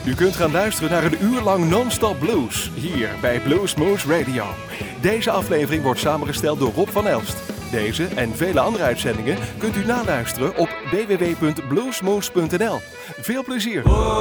U kunt gaan luisteren naar een uur lang non-stop blues, hier bij Bluesmoose Radio. Deze aflevering wordt samengesteld door Rob van Elst. Deze en vele andere uitzendingen kunt u naluisteren op www.bluesmoose.nl. Veel plezier!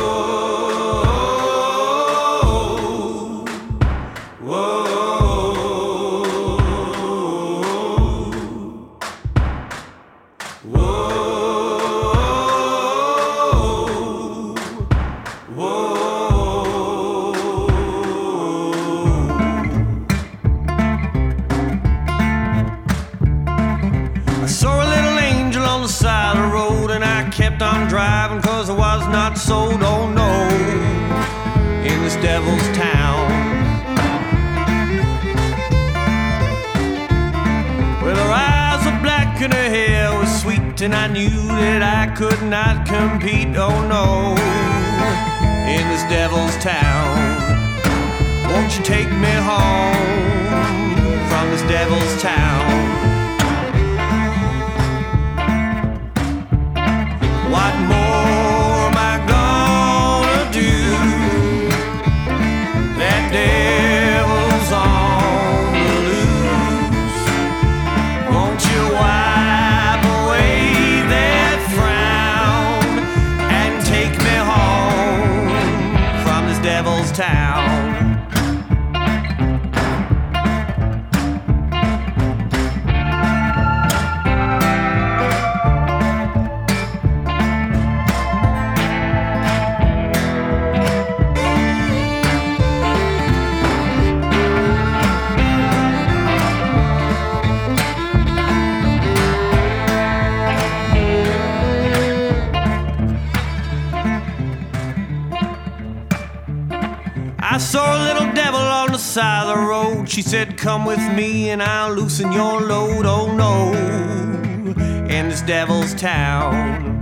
Driving 'cause I was not sold, oh no, in this devil's town. Well, her eyes were black and her hair was sweet, and I knew that I could not compete, oh no, in this devil's town. Won't you take me home from this devil's town? What more am I gonna do? That devil's on the loose. Won't you wipe away that frown and take me home from this devil's town? I saw a little devil on the side of the road. She said, come with me and I'll loosen your load. Oh no, in this devil's town.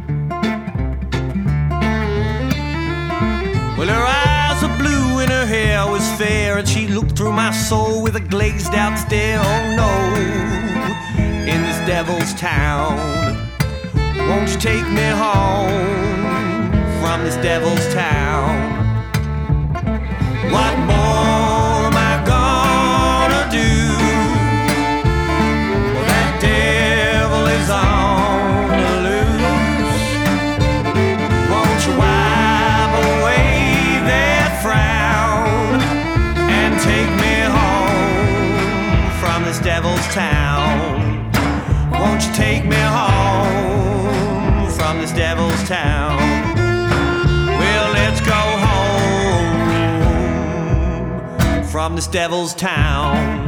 Well, her eyes were blue and her hair was fair, and she looked through my soul with a glazed out stare. Oh no, in this devil's town. Won't you take me home from this devil's town? What more am I gonna do? Well, that devil is on the loose. Won't you wipe away that frown and take me home from this devil's town? Won't you take me home from this devil's town? Well, let's go home from this devil's town.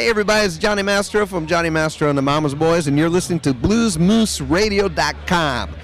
Hey everybody, it's Johnny Mastro from Johnny Mastro and the Mama's Boys, and you're listening to BluesMooseRadio.com.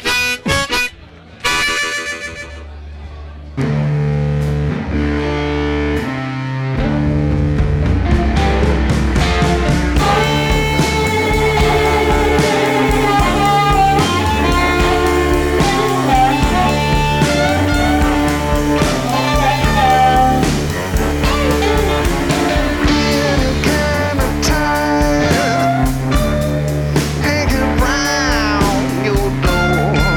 Hanging round your door.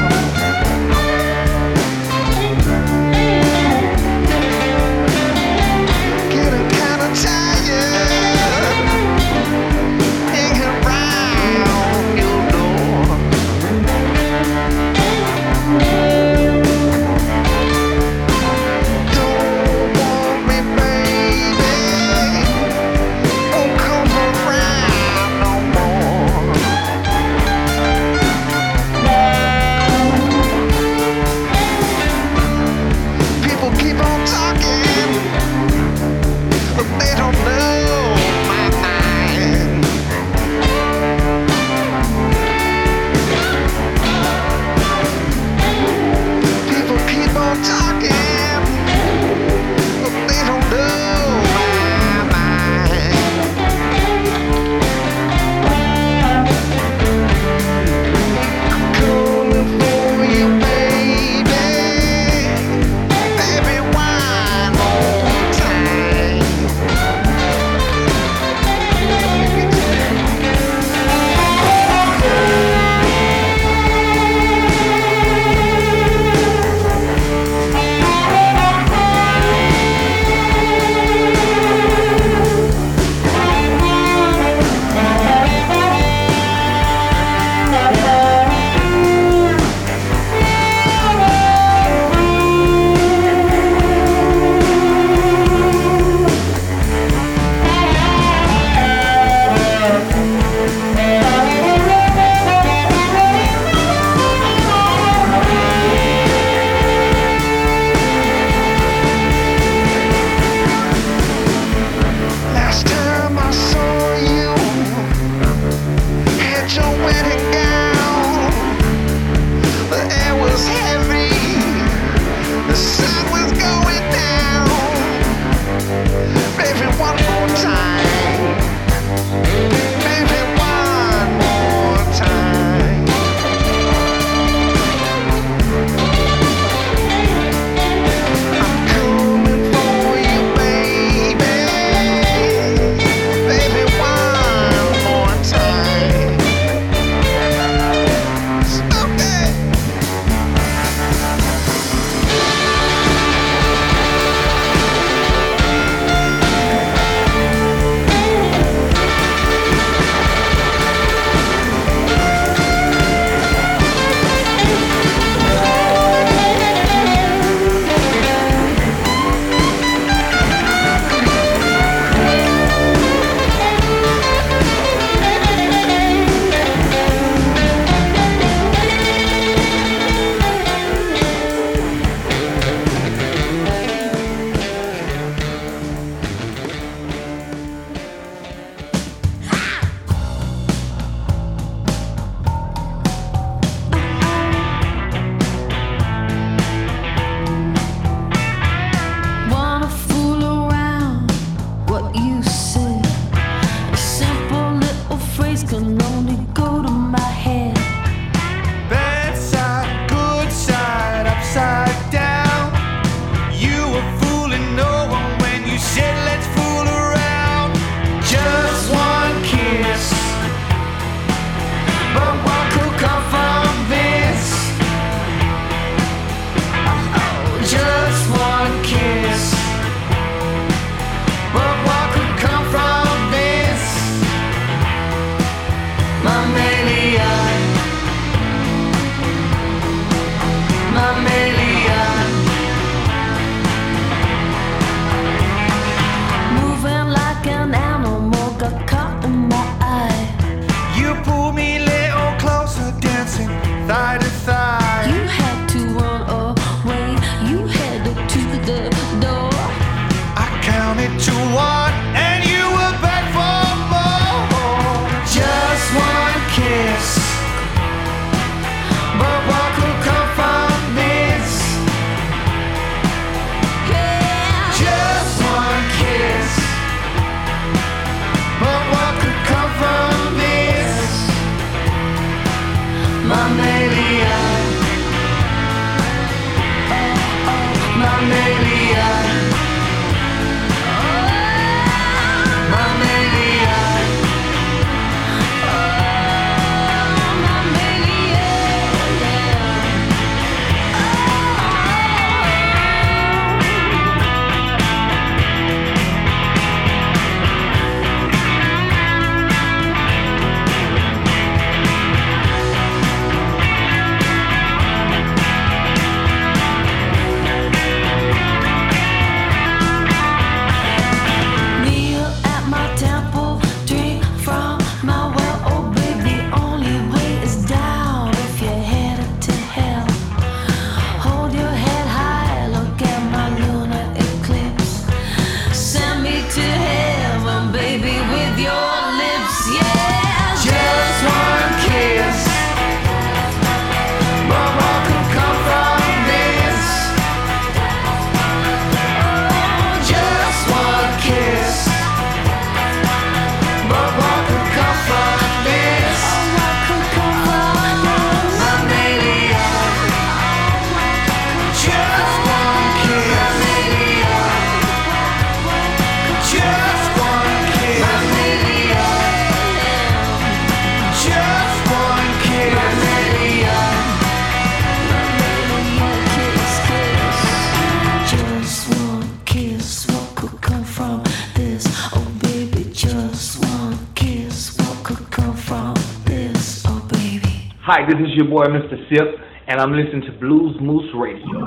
Hi, this is your boy, Mr. Sip, and I'm listening to Blues Moose Radio.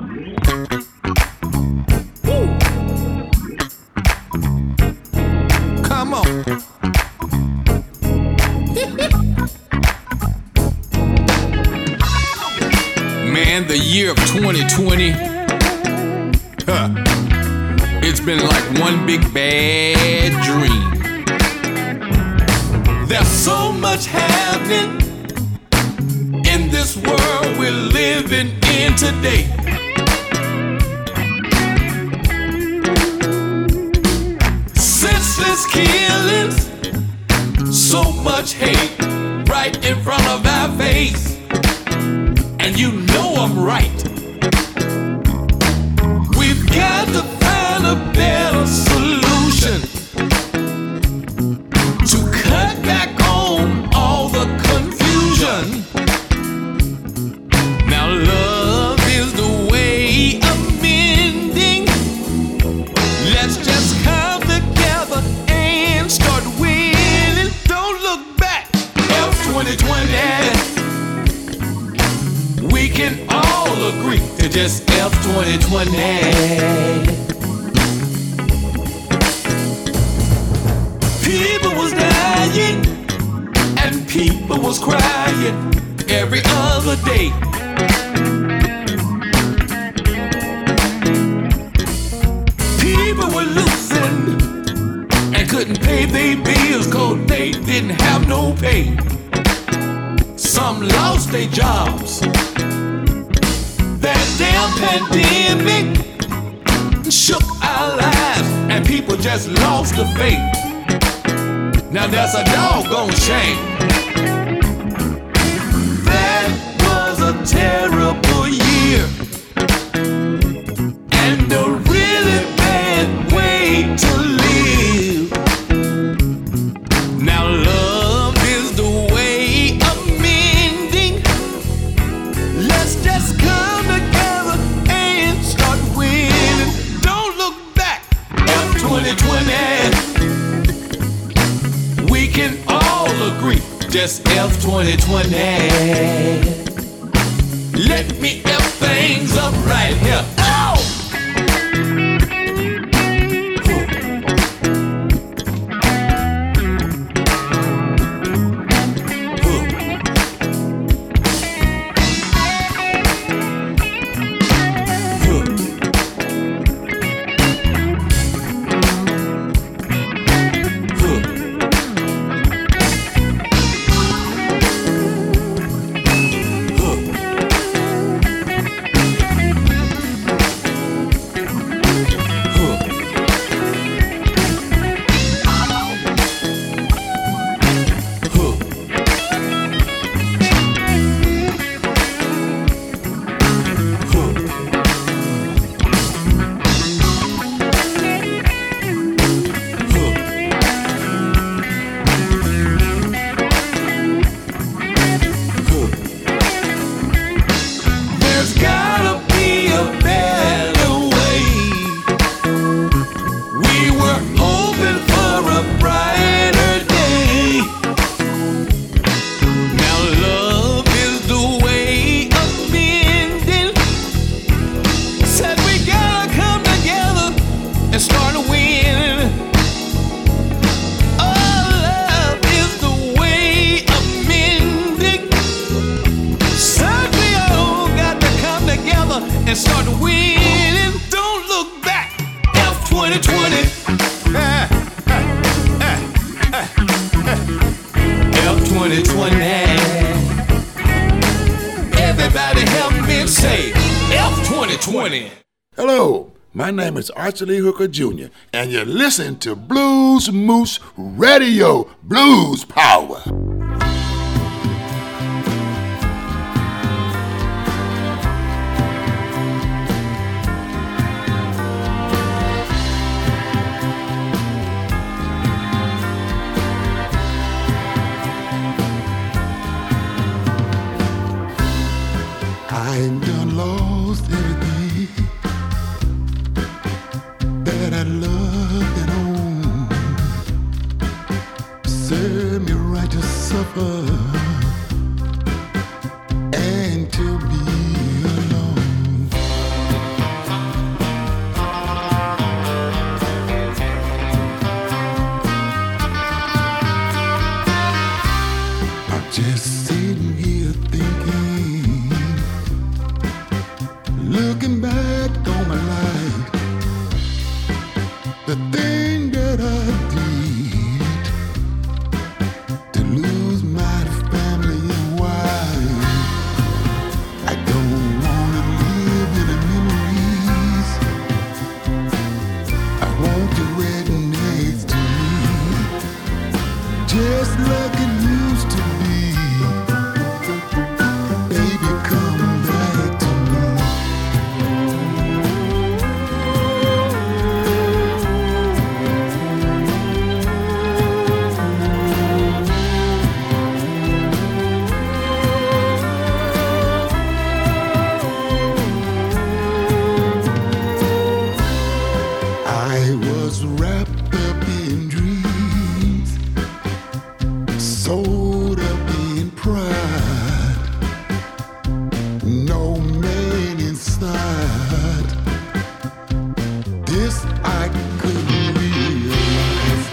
Come on. Man, the year of 2020, it's been like one big bad dream. There's so much happening in this world we're living in today. Senseless killings, so much hate right in front of our face. And you know I'm right. We've got to find a better solution to cut back on all the confusion. Now love is the way of mending. Let's just come together and start winning. Don't look back. F2020. We can all agree to just F2020. People was dying and people was crying every other day. People were losing and couldn't pay their bills 'cause they didn't have no pay. Some lost their jobs. That damn pandemic shook our lives and people just lost the faith. Now that's a doggone shame. That was a terrible year and a really bad way to live. Now love is the way of mending. Let's just come together and start winning. Don't look back. F2020. We can all agree. Just F2020. Let me F things up right here. Oh! And start winning. Don't look back. F2020. F2020. Everybody help me say F2020. Hello, my name is Archie Lee Hooker Jr., and you're listening to Blues Moose Radio. Blues Power. I done lost everything that I loved and owned. Served me right to suffer Just sitting here thinking, looking back on my life, the thing that I did to lose my family and wife. I don't wanna live in the memories. I want the rednecks to me, just like it used to be. Baby, come back to me. I was wrapped up in dreams, sold up in pride. No man inside. This I couldn't realize.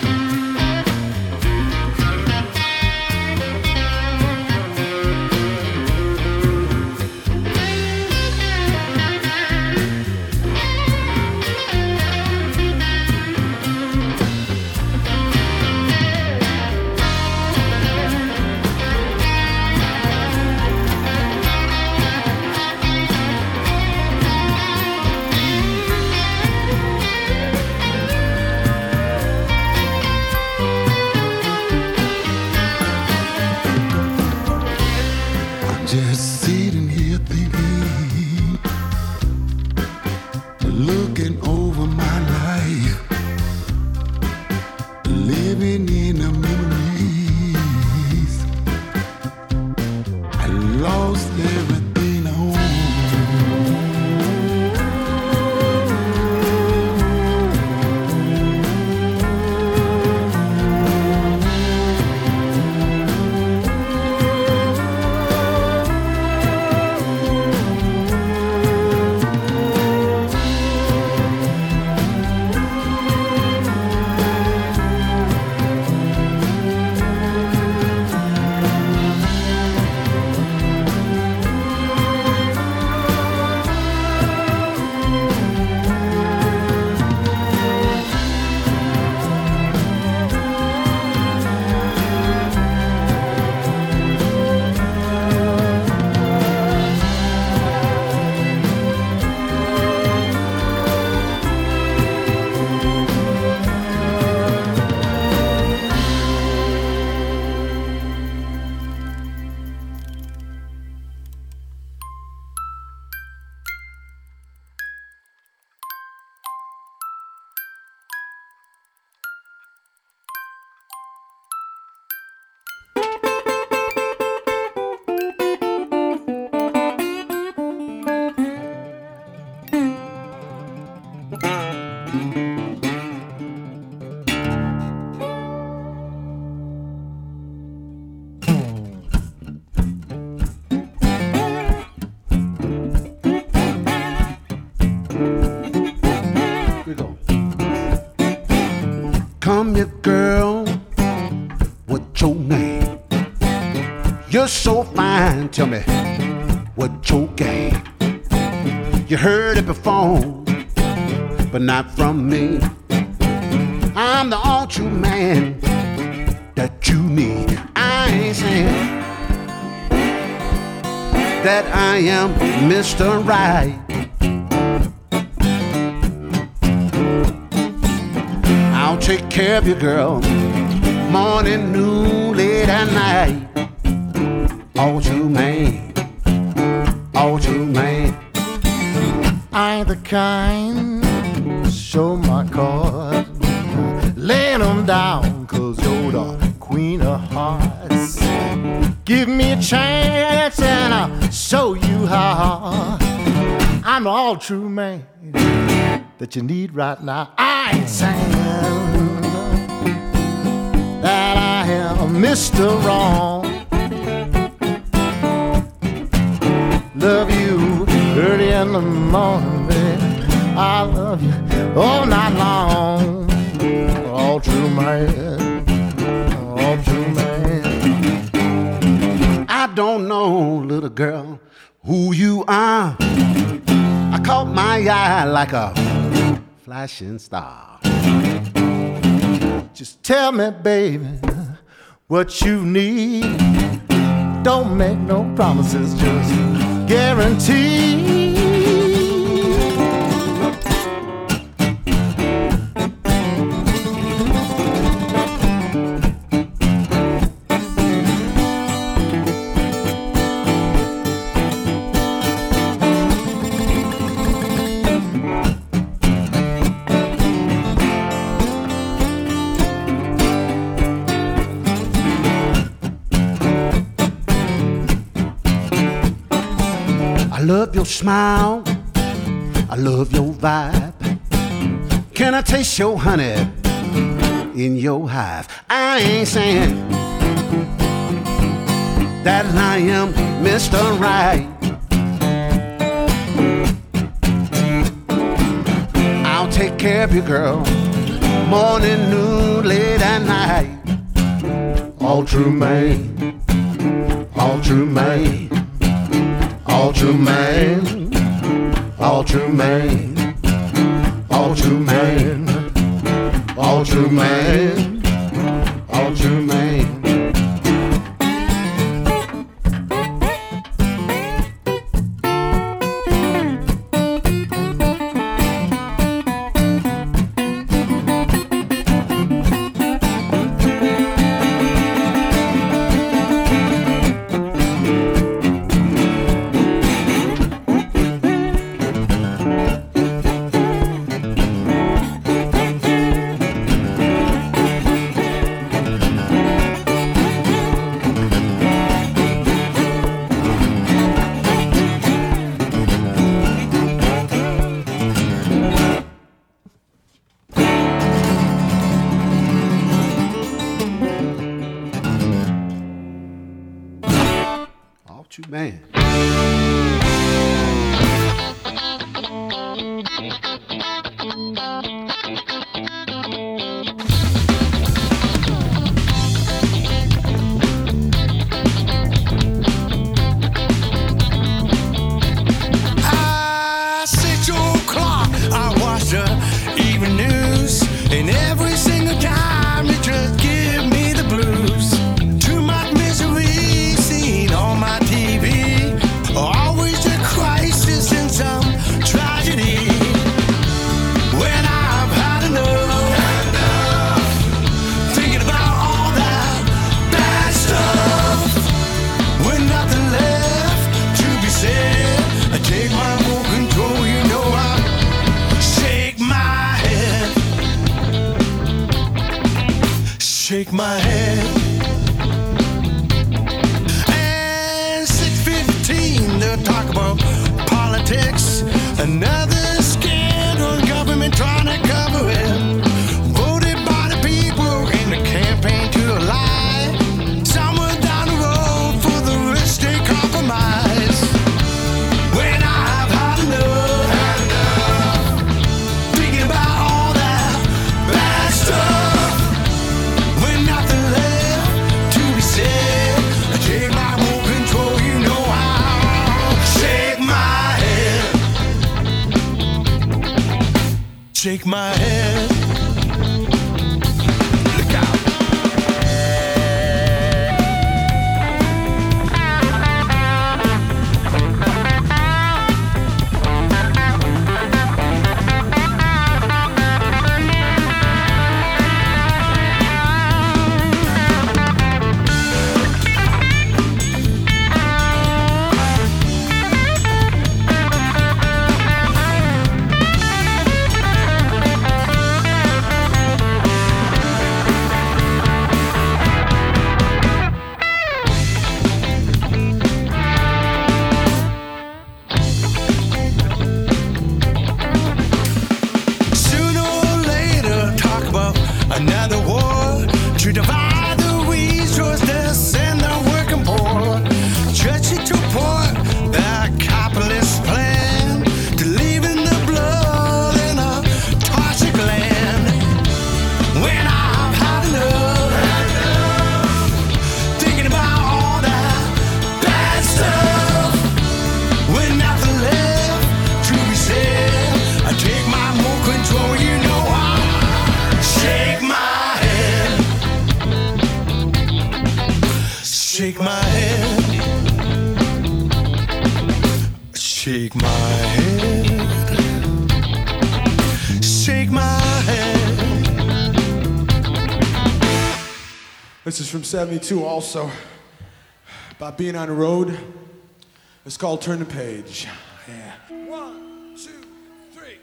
I'm just sitting here thinking, looking over my life, living in the memories. I lost everything I owned. Come here, girl, what's your name? You're so fine, tell me, what's your game? You heard it before, but not from me. I'm the all true man that you need. I ain't saying that I am Mr. Right. I'll take care of you, girl, morning, noon, late at night. All true man, all true man. I ain't the kind show my cards, laying them down, 'cause you're the queen of hearts. Give me a chance and I'll show you how. I'm the all true man that you need right now. I ain't saying that I am Mr. Wrong. Love you early in the morning, baby. I love you all night long. All true man, all true man. don't know, little girl, who you are. I caught my eye like a flashing star. Just tell me, baby, what you need. Don't make no promises, just guarantee. I love your smile, I love your vibe. Can I taste your honey in your hive? I ain't saying that I am Mr. Right. I'll take care of you, girl, morning, noon, late at night. All true, man, all true, man. All true man, all true man, all true man, all true man, all true man. Man. Set your clock, I watch the evening news, and every single time you just give me the blues. Too much misery seen on my TV, always a crisis and some tragedy. When I've had enough, thinking about all that bad stuff, with nothing left to be said, I take my full control, you know I shake my head, shake my head. And 6:15, they'll talk about politics, another scandal, government trying to cover it, voted by the people in the campaign to a lie, somewhere down the road for the rich they compromise. When I've had enough, thinking about all that bad stuff, with nothing left to be said, I take my own control, you know I'll shake my head, shake my head. Look out. Shake my head. Shake my head. Shake my head. This is from 72 also. About being on the road. It's called Turn the Page. Yeah. 1, 2, 3.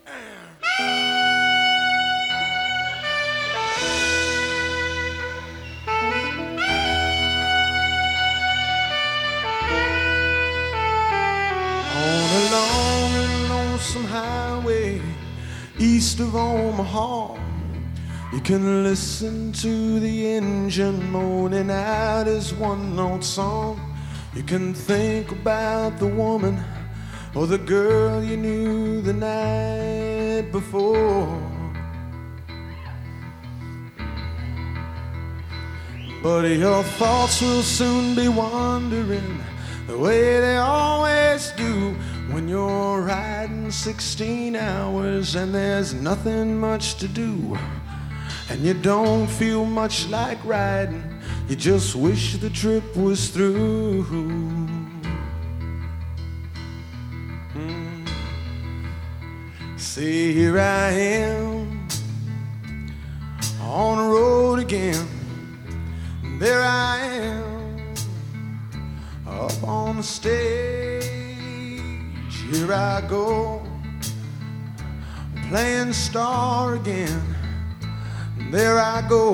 On a long and lonesome highway east of Omaha, you can listen to the engine moaning out his one-note song. You can think about the woman or the girl you knew the night before. But your thoughts will soon be wandering the way they always do when you're riding 16 hours and there's nothing much to do. And you don't feel much like riding, you just wish the trip was through. See, here I am on the road again. There I am up on the stage. Here I go playing star again. There I go,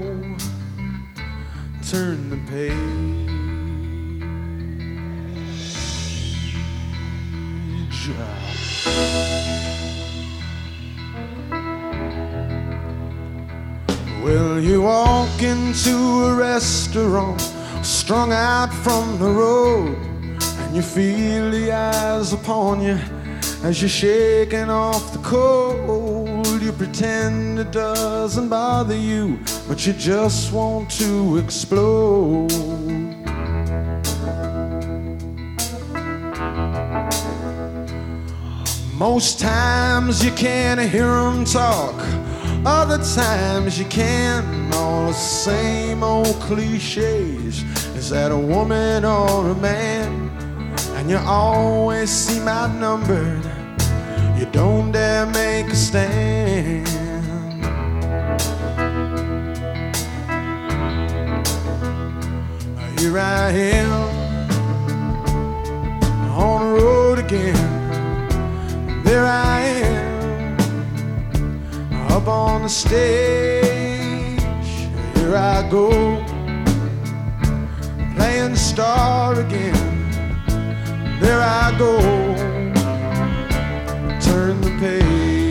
turn the page. Well, you walk into a restaurant, strung out from the road, and you feel the eyes upon you as you're shaking off the cold. You pretend it doesn't bother you, but you just want to explode. Most times you can't hear them talk, other times you can. All the same old cliches. Is that a woman or a man? And you always seem outnumbered. You don't dare make a stand. Here I am on the road again. There I am up on the stage. Here I go playing star again. There I go, turn the page.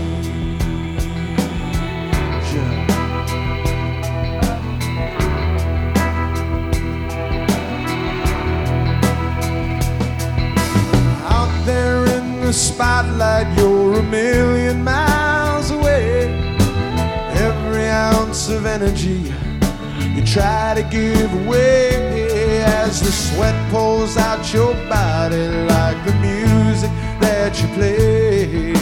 Out there in the spotlight, you're a million miles away. Every ounce of energy you try to give away as the sweat pours out your body like the music that you play.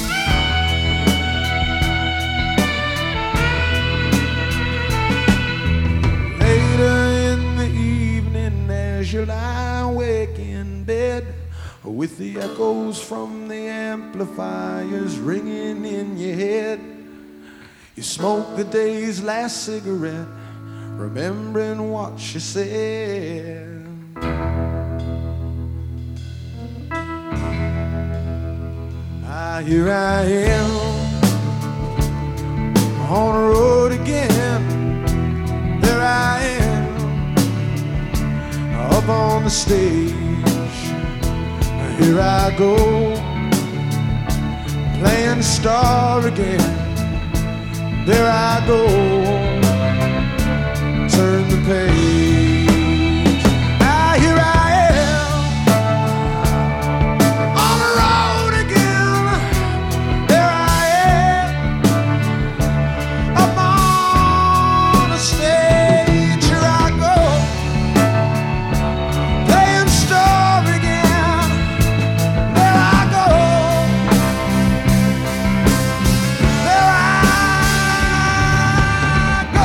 Later in the evening as you lie awake in bed with the echoes from the amplifiers ringing in your head, you smoke the day's last cigarette, remembering what she said. Here I am on the road again. There I am up on the stage. Here I go playing star again. There I go, turn the page. Here I am on the road again. There I am up on the stage. Here I go playing star again. There I go, there I go.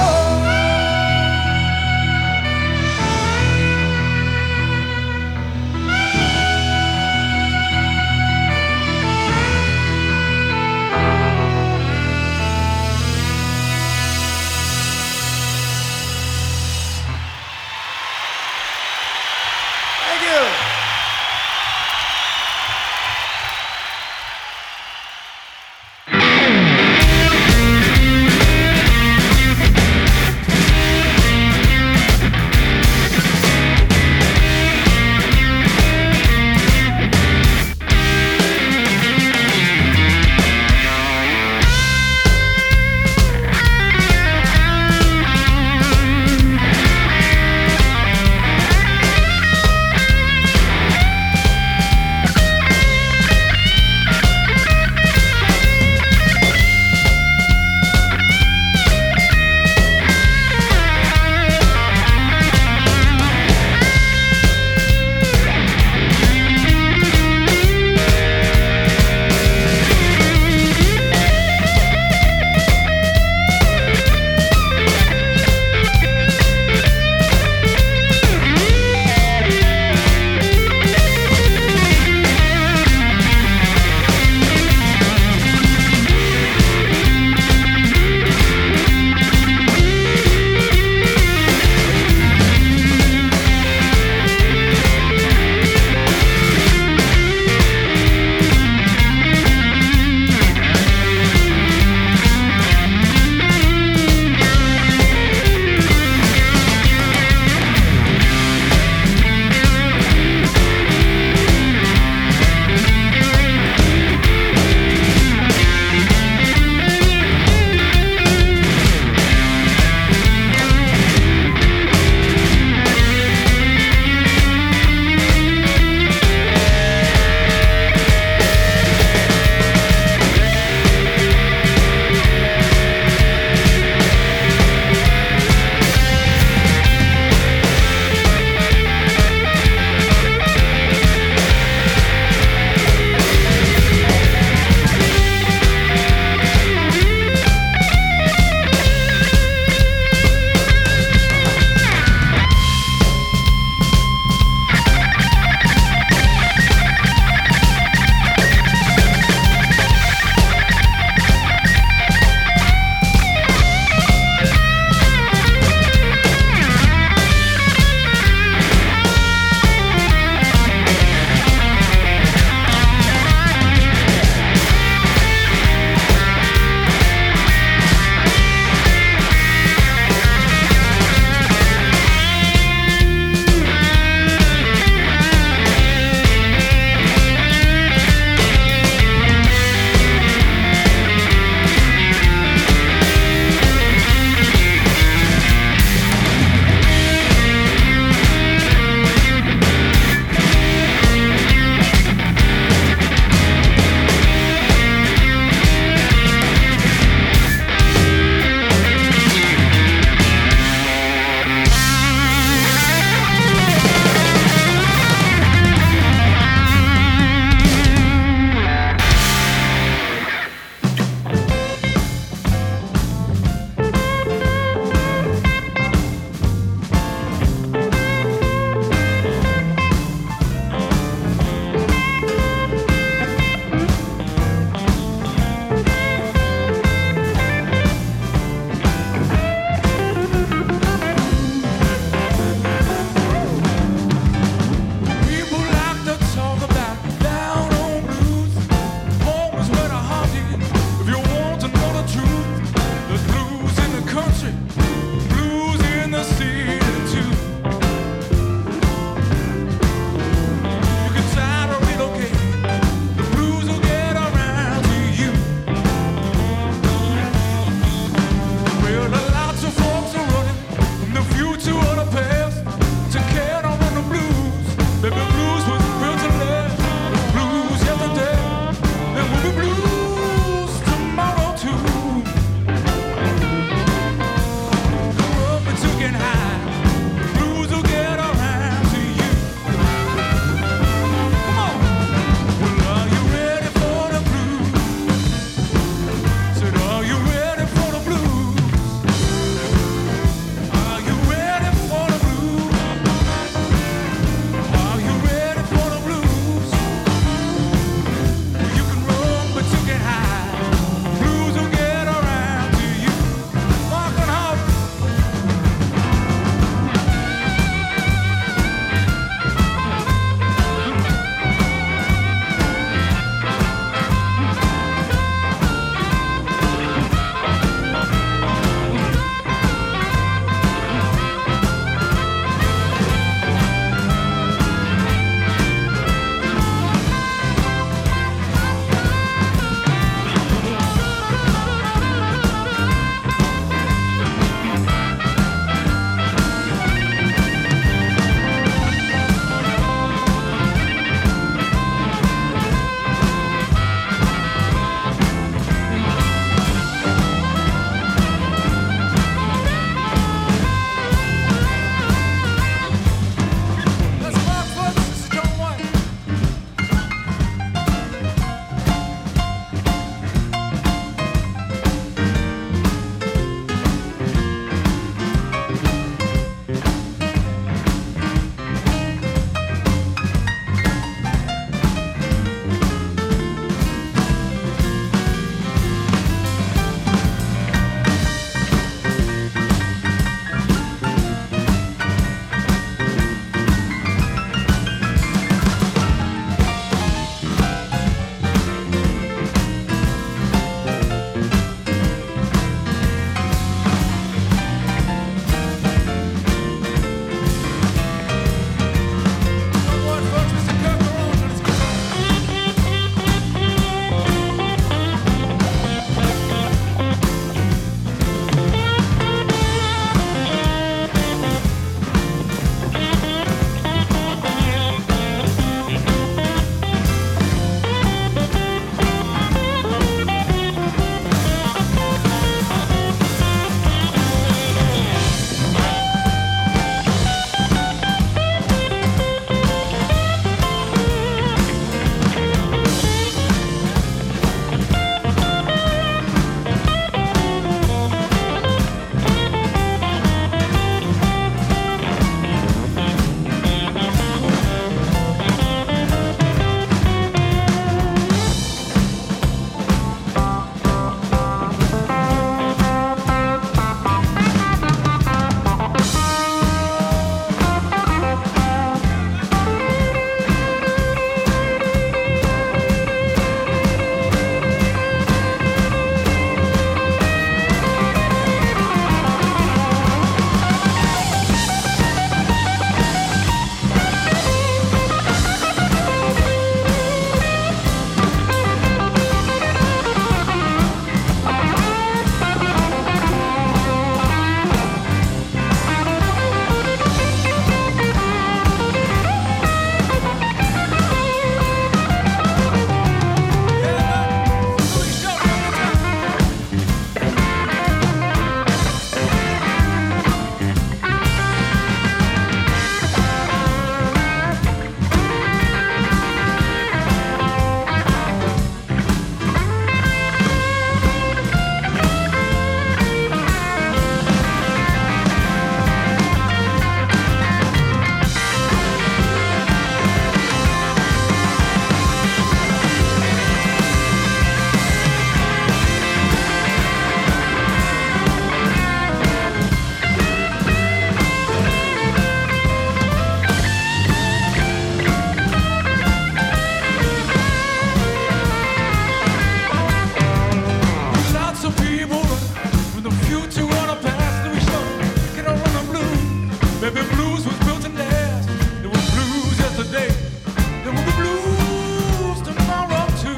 the blues was built to last. There was blues yesterday. There will be blues tomorrow too.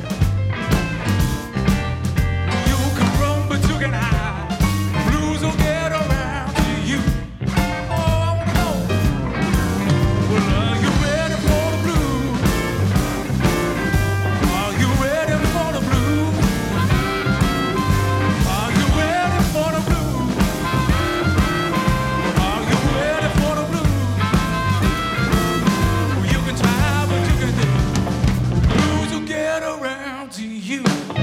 You can run, but you can hide. Blues will get around to you. Oh, no. Well, are you ready for the blues? Are you ready for the blues? Are you ready for the blues? Are you ready for the blues? Well, you can try, but you can do. Blues will get around to you.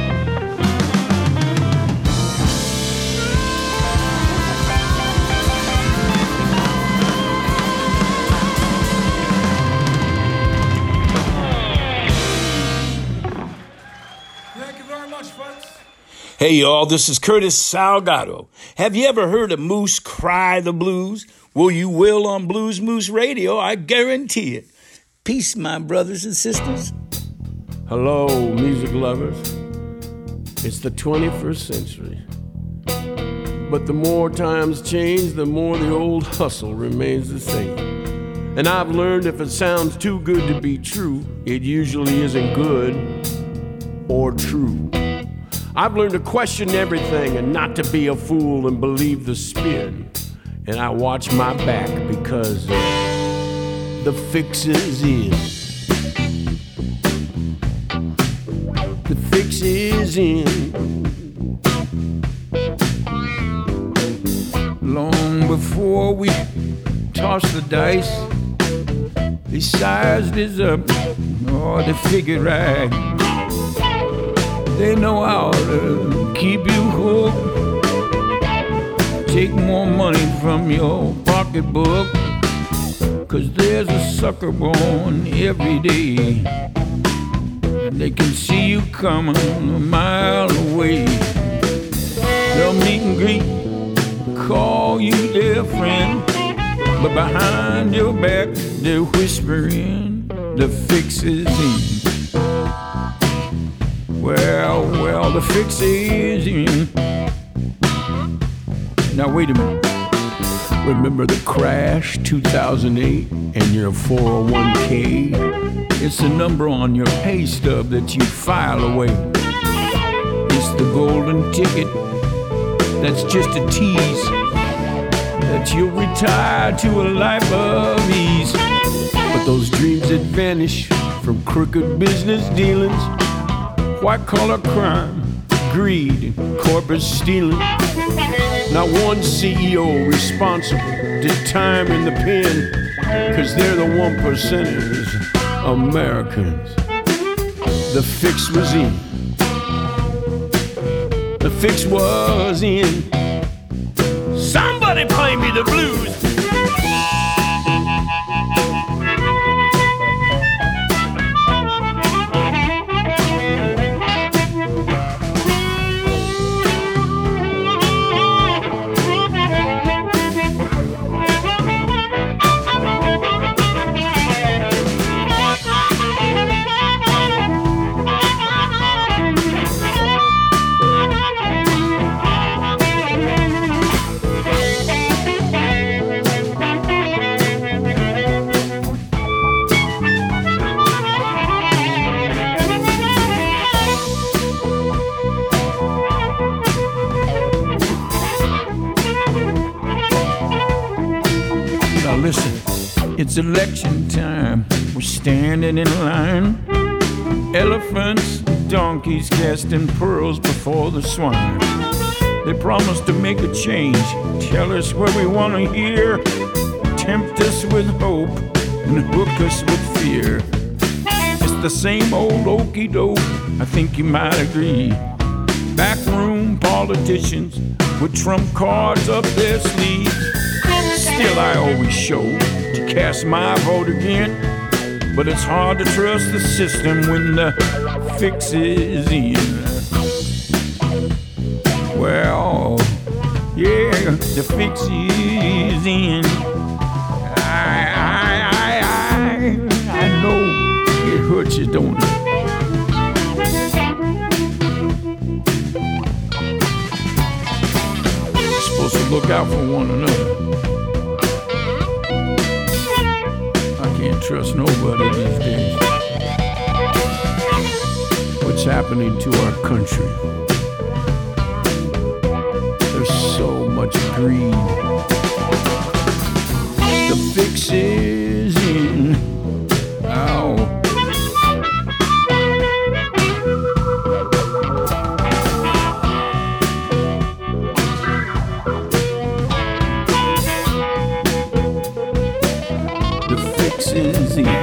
Thank you very much, folks. Hey y'all, this is Curtis Salgado. Have you ever heard a moose cry the blues? Well, you will on Blues Moose Radio, I guarantee it. Peace, my brothers and sisters. Hello, music lovers. It's the 21st century. But the more times change, the more the old hustle remains the same. And I've learned if it sounds too good to be true, it usually isn't good or true. I've learned to question everything and not to be a fool and believe the spin. And I watch my back because the fix is in. The fix is in. Long before we toss the dice, they sized us up, or they figured right. They know how to keep you hooked. Take more money from your pocketbook, 'cause there's a sucker born every day. And they can see you coming a mile away. They'll meet and greet, call you their friend, but behind your back they're whispering the fix is in. Well, the fix is in. Now wait a minute. Remember the crash 2008 and your 401k? It's the number on your pay stub that you file away. It's the golden ticket that's just a tease that you'll retire to a life of ease. But those dreams that vanish from crooked business dealings, white-collar crime, greed, and corporate stealing. Not one CEO responsible did time in the pen, 'cause they're the 1%ers, Americans. The fix was in. The fix was in. Somebody play me the blues. Listen, it's election time. We're standing in line. Elephants, donkeys casting pearls before the swine. They promise to make a change, tell us what we want to hear, tempt us with hope and hook us with fear. It's the same old okey doke, I think you might agree. Backroom politicians with trump cards up their sleeves. Still, I always show to cast my vote again. But it's hard to trust the system when the fix is in. Well, yeah, the fix is in. I know it hurts you, don't it? You're supposed to look out for one another. trust nobody these days. What's happening to our country? There's so much greed. The fix is in. Ow. Is in.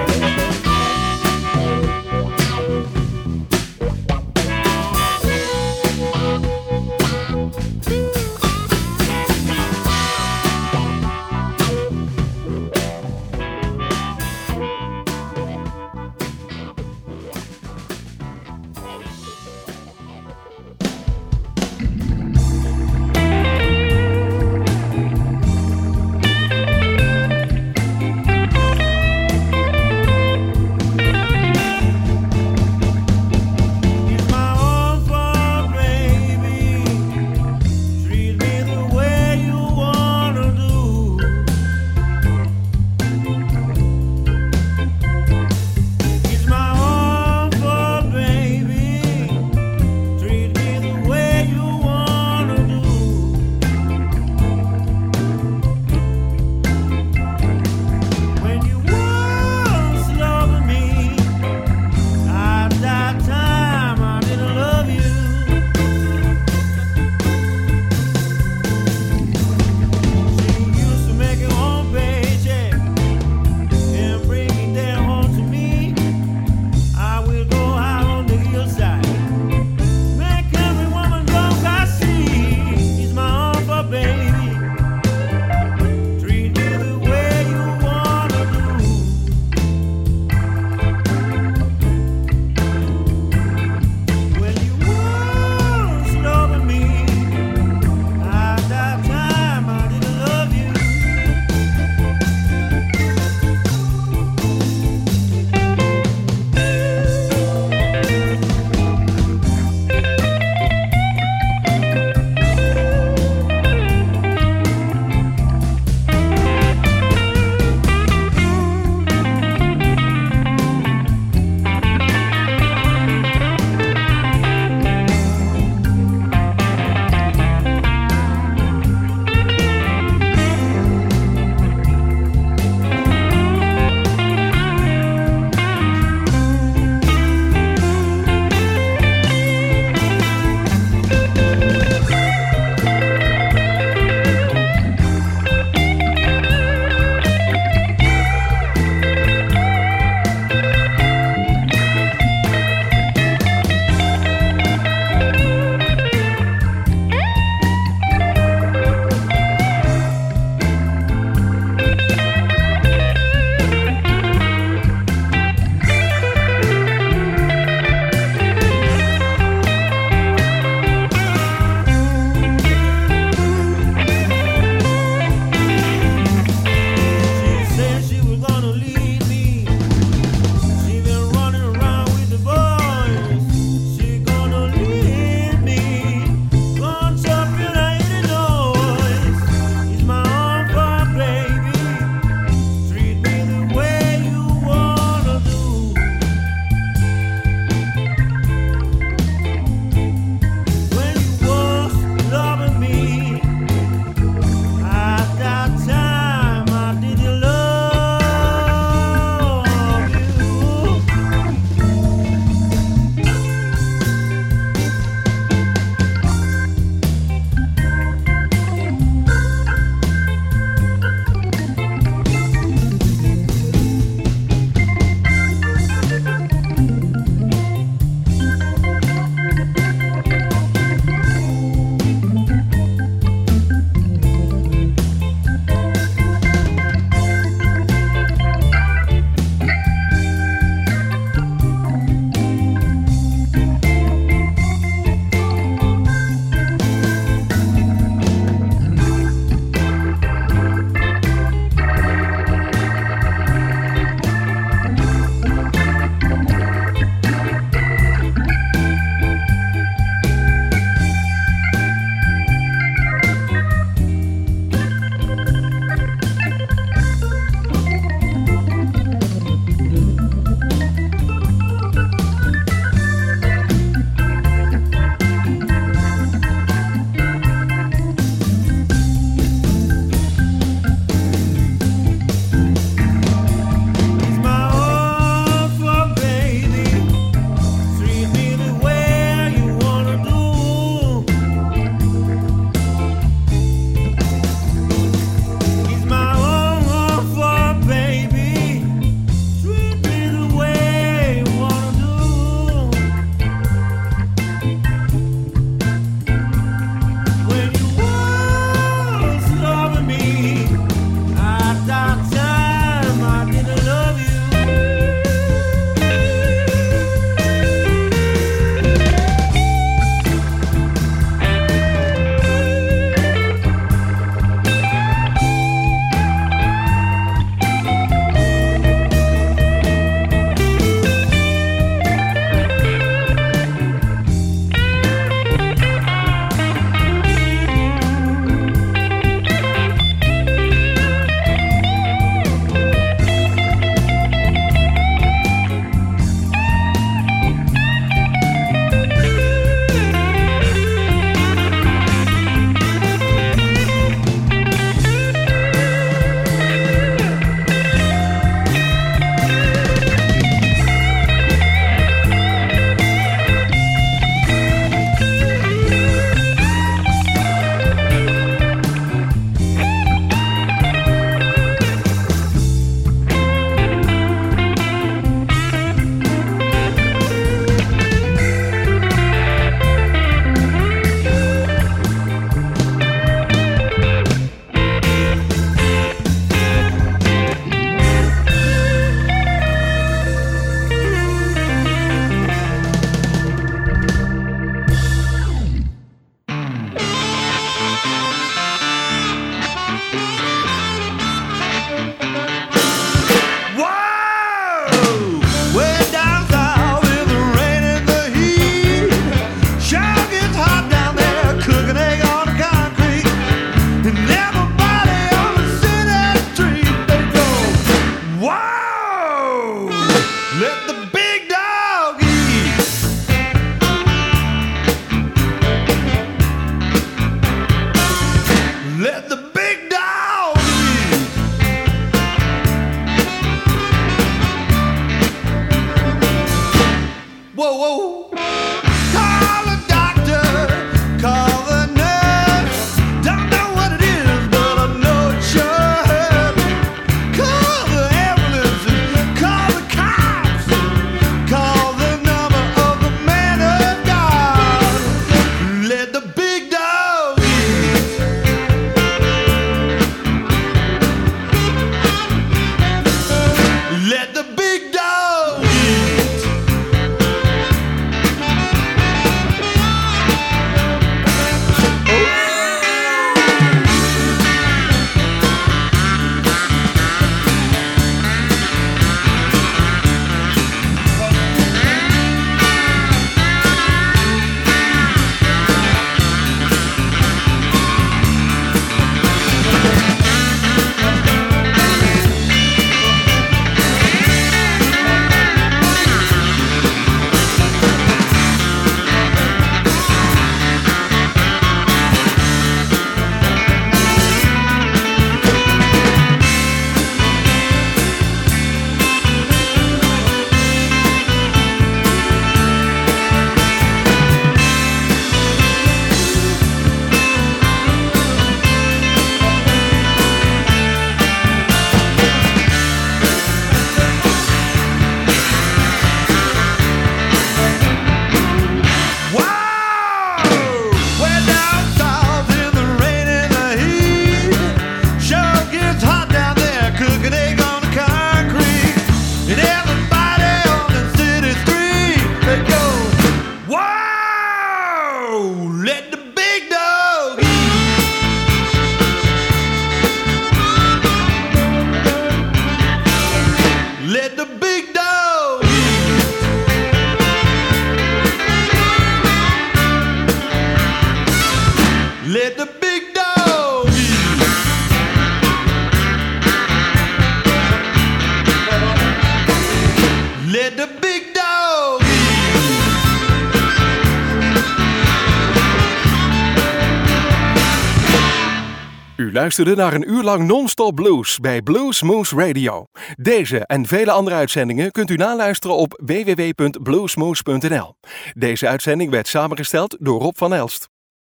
U luisterde naar een uur lang non-stop blues bij Blues Moose Radio. Deze en vele andere uitzendingen kunt u naluisteren op www.bluesmoose.nl. Deze uitzending werd samengesteld door Rob van Elst.